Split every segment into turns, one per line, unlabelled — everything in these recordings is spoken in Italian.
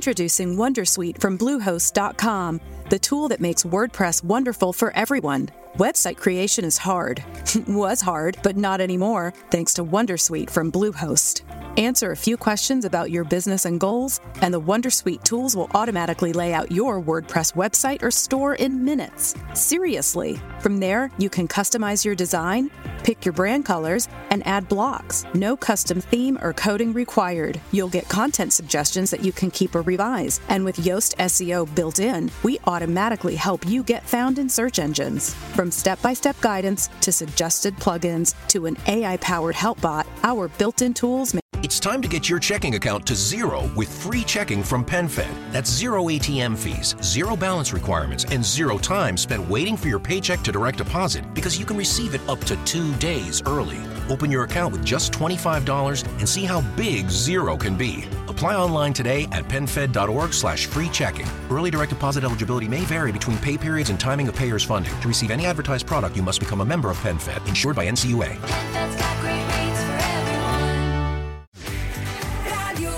Introducing Wondersuite from Bluehost.com, the tool that makes WordPress wonderful for everyone. Website creation is hard. Was hard, but not anymore, thanks to Wondersuite from Bluehost. Answer a few questions about your business and goals, and the Wondersuite tools will automatically lay out your WordPress website or store in minutes. Seriously. From there, you can customize your design, pick your brand colors, and add blocks. No custom theme or coding required. You'll get content suggestions that you can keep or revise. And with Yoast SEO built in, we automatically help you get found in search engines. From step-by-step guidance to suggested plugins to an AI-powered help bot, our built-in tools make
It's time to get your checking account to zero with free checking from PenFed. That's zero ATM fees, zero balance requirements, and zero time spent waiting for your paycheck to direct deposit because you can receive it up to 2 days early. Open your account with just $25 and see how big zero can be. Apply online today at PenFed.org/free checking. Early direct deposit eligibility may vary between pay periods and timing of payers' funding. To receive any advertised product, you must become a member of PenFed, insured by NCUA.
PenFed's got great rates for everyone. Radio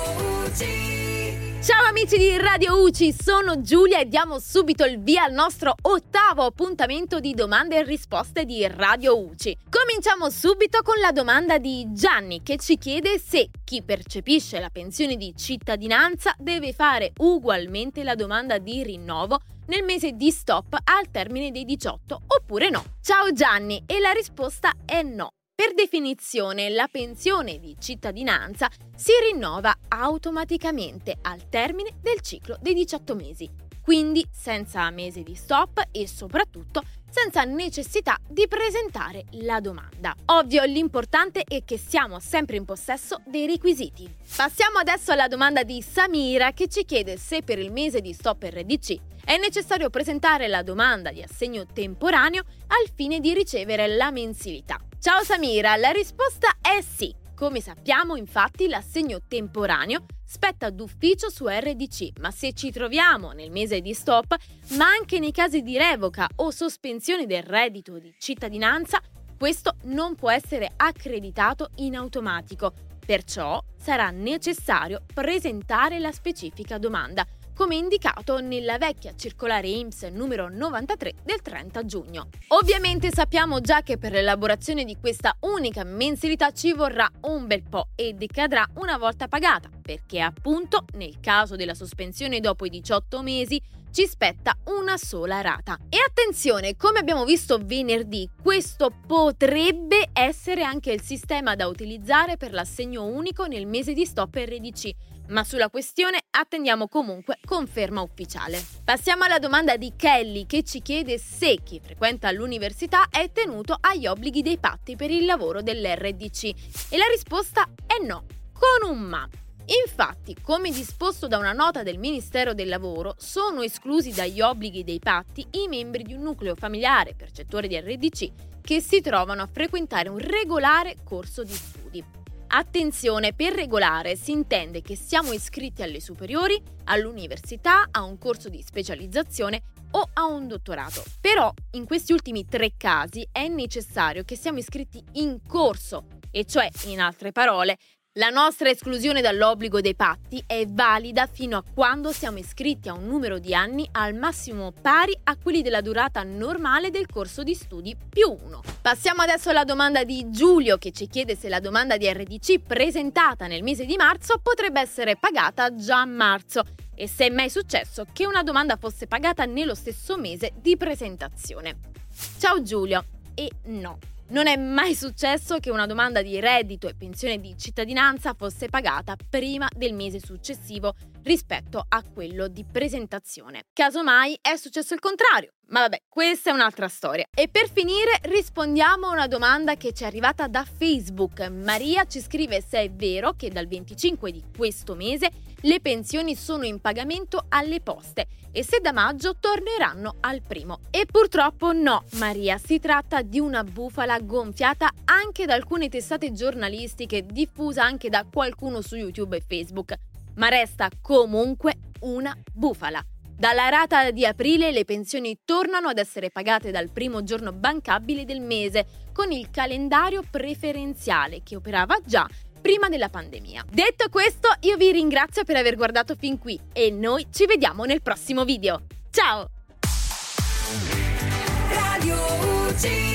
UCI.
Ciao amici di Radio UCI, sono Giulia e diamo subito il via al nostro 8º appuntamento di domande e risposte di Radio UCI. Cominciamo subito con la domanda di Gianni che ci chiede se chi percepisce la pensione di cittadinanza deve fare ugualmente la domanda di rinnovo nel mese di stop al termine dei 18 oppure no. Ciao Gianni, e la risposta è no. Per definizione, la pensione di cittadinanza si rinnova automaticamente al termine del ciclo dei 18 mesi, quindi senza mese di stop e soprattutto senza necessità di presentare la domanda. Ovvio, l'importante è che siamo sempre in possesso dei requisiti. Passiamo adesso alla domanda di Samira che ci chiede se per il mese di stop RDC è necessario presentare la domanda di assegno temporaneo al fine di ricevere la mensilità. Ciao Samira, la risposta è sì. Come sappiamo, infatti, l'assegno temporaneo spetta d'ufficio su RDC, ma se ci troviamo nel mese di stop, ma anche nei casi di revoca o sospensione del reddito di cittadinanza, questo non può essere accreditato in automatico. Perciò sarà necessario presentare la specifica domanda, come indicato nella vecchia circolare INPS numero 93 del 30 giugno. Ovviamente sappiamo già che per l'elaborazione di questa unica mensilità ci vorrà un bel po' e decadrà una volta pagata, perché appunto nel caso della sospensione dopo i 18 mesi ci spetta una sola rata. E attenzione, come abbiamo visto venerdì, questo potrebbe essere anche il sistema da utilizzare per l'assegno unico nel mese di stop RDC, ma sulla questione attendiamo comunque conferma ufficiale. Passiamo alla domanda di Kelly che ci chiede se chi frequenta l'università è tenuto agli obblighi dei patti per il lavoro dell'RDC e la risposta è no, con un ma. Infatti, come disposto da una nota del Ministero del Lavoro, sono esclusi dagli obblighi dei patti i membri di un nucleo familiare percettore di RDC che si trovano a frequentare un regolare corso di studi. Attenzione, per regolare si intende che siamo iscritti alle superiori, all'università, a un corso di specializzazione o a un dottorato. Però in questi ultimi 3 casi è necessario che siamo iscritti in corso, e cioè, in altre parole, la nostra esclusione dall'obbligo dei patti è valida fino a quando siamo iscritti a un numero di anni al massimo pari a quelli della durata normale del corso di studi più 1. Passiamo adesso alla domanda di Giulio che ci chiede se la domanda di RDC presentata nel mese di marzo potrebbe essere pagata già a marzo e se è mai successo che una domanda fosse pagata nello stesso mese di presentazione. Ciao Giulio, e no. Non è mai successo che una domanda di reddito e pensione di cittadinanza fosse pagata prima del mese successivo rispetto a quello di presentazione. Casomai è successo il contrario, ma vabbè, questa è un'altra storia. E per finire rispondiamo a una domanda che ci è arrivata da Facebook. Maria ci scrive se è vero che dal 25 di questo mese le pensioni sono in pagamento alle poste e se da maggio torneranno al 1. E purtroppo no, Maria, si tratta di una bufala gonfiata anche da alcune testate giornalistiche, diffusa anche da qualcuno su YouTube e Facebook, ma resta comunque una bufala. Dalla rata di aprile le pensioni tornano ad essere pagate dal primo giorno bancabile del mese, con il calendario preferenziale che operava già prima della pandemia. Detto questo, io vi ringrazio per aver guardato fin qui e noi ci vediamo nel prossimo video. Ciao!
Radio UG.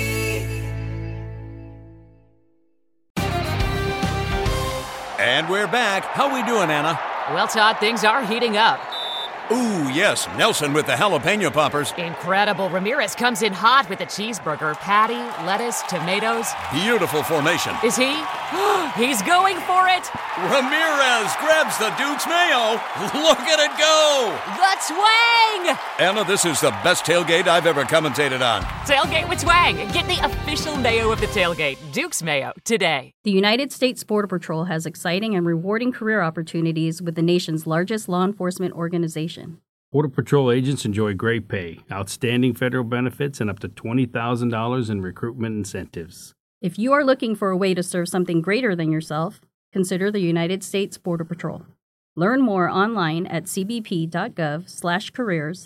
And we're back. How we doing, Anna?
Well, Todd, things are heating up.
Ooh, yes, Nelson with the jalapeno poppers.
Incredible. Ramirez comes in hot with a cheeseburger, patty, lettuce, tomatoes.
Beautiful formation.
Is he? He's going for it.
Ramirez grabs the Duke's mayo. Look at it go.
The twang!
Anna, this is the best tailgate I've ever commentated on.
Tailgate with twang. Get the official mayo of the tailgate, Duke's Mayo, today.
The United States Border Patrol has exciting and rewarding career opportunities with the nation's largest law enforcement organization.
Border Patrol agents enjoy great pay, outstanding federal benefits, and up to $20,000 in recruitment incentives.
If you are looking for a way to serve something greater than yourself, consider the United States Border Patrol. Learn more online at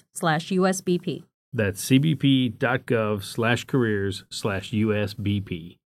cbp.gov/careers/USBP.
That's cbp.gov/careers/USBP.